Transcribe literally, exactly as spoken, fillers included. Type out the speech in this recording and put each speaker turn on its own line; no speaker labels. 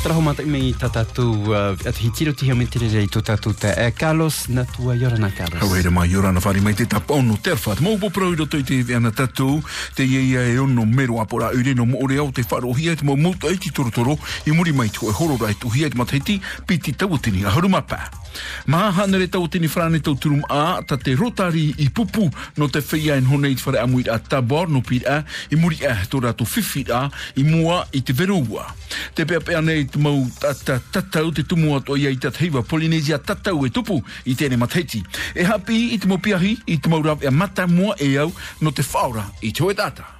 Traho mata me tatatu at hitiro ti hame te rei to tatu te Carlos na tua yorana Carlos.
Hawe mai yorana fari mai te tapono terfat mo bo pro do te ana tatu te ia e ono mero apora ure no mo ore au te faro hia mo mo te torotoro I muri mai tu e horo rai tu hia ma teti piti tawutini a haruma pa. Ma hanere tawutini frane tau turum a ta te rotari I pupu no te feia en honeit fare amuit a tabor no pira I muri a to rato fifi a I mua I te verua. Te pea pea nei te mau tata tatau te tumu ato ia I te heiva Polynesia tatau e tupu I tēne mateti. E hapi I te mo piahi I te mau rau e mata mua e au no te whaura I te hoe tata.